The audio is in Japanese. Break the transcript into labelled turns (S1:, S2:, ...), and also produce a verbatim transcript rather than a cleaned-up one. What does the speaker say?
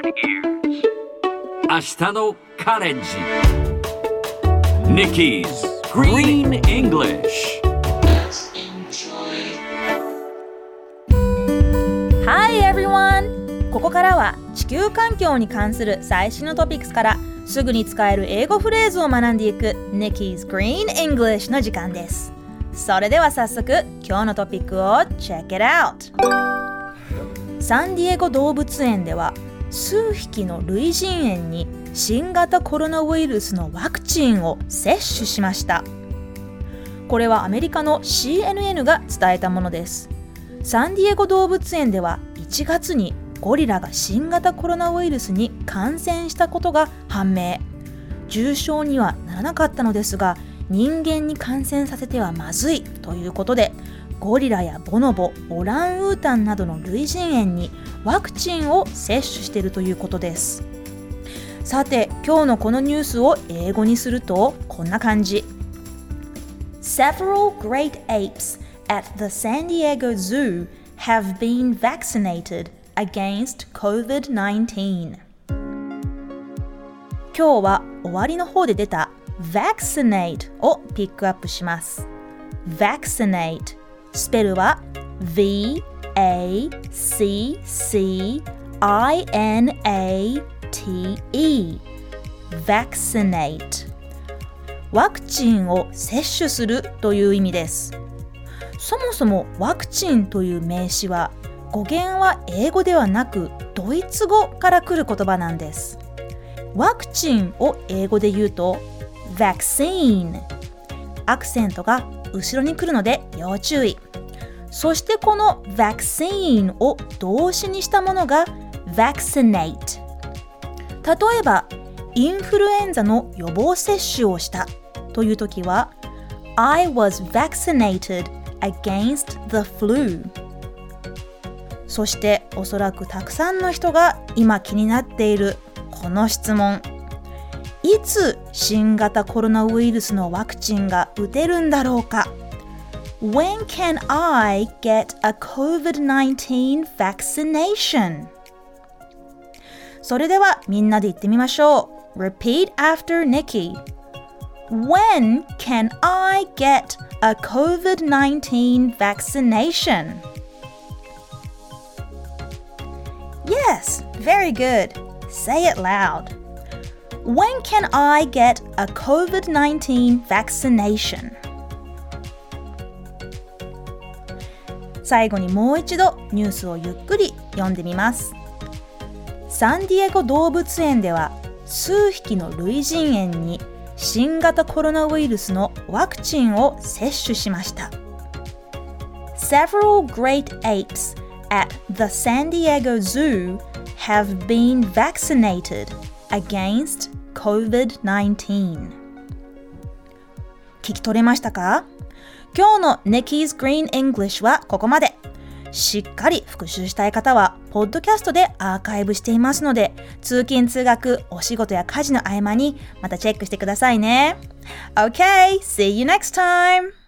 S1: ears 明日のカレンジ Nikki's Green English
S2: Hi everyone! ここからは地球環境に関する最新のトピックスからすぐに使える英語フレーズを学んでいく Nikki's Green English の時間です。それでは早速今日のトピックを Check it out! サンディエゴ動物園では数匹の類人猿に新型コロナウイルスのワクチンを接種しました。これはアメリカの シーエヌエヌ が伝えたものです。サンディエゴ動物園ではいちがつにゴリラが新型コロナウイルスに感染したことが判明。重症にはならなかったのですが、人間に感染させてはまずいということで、ゴリラやボノボ、オランウータンなどの類人猿にワクチンを接種しているということです。さて、今日のこのニュースを英語にするとこんな感じ。Several great apes at the San Diego Zoo have been vaccinated against コービドナインティーン。 今日は終わりの方で出た vaccinate をピックアップします。 vaccinate スペルは V A C C I N A T E vaccinate ワクチンを接種するという意味です。そもそもワクチンという名詞は語源は英語ではなくドイツ語から来る言葉なんです。ワクチンを英語で言うと vaccine アクセントが後ろに来るので要注意。そしてこの vaccine を動詞にしたものが vaccinate。 例えばインフルエンザの予防接種をしたという時は I was vaccinated against the flu。 そしておそらくたくさんの人が今気になっているこの質問、いつ新型コロナウイルスのワクチンが打てるんだろうか。 When can I get a コービドナインティーン vaccination? それではみんなで言ってみましょう。 Repeat after Nikki. When can I get a コービドナインティーン vaccination? Yes, very good. Say it loud. When can I get a コービドナインティーン vaccination? 最後にもう一度ニュースをゆっくり読んでみます。サンディエゴ動物園では数匹の類人猿に新型コロナウイルスのワクチンを接種しました。Several great apes at the San Diego Zoo have been vaccinated against コービドナインティーン。 聞き取れましたか？今日の Nikki's Green English はここまで。しっかり復習したい方はポッドキャストでアーカイブしていますので、通勤通学、お仕事や家事の合間にまたチェックしてくださいね。Okay, see you next time!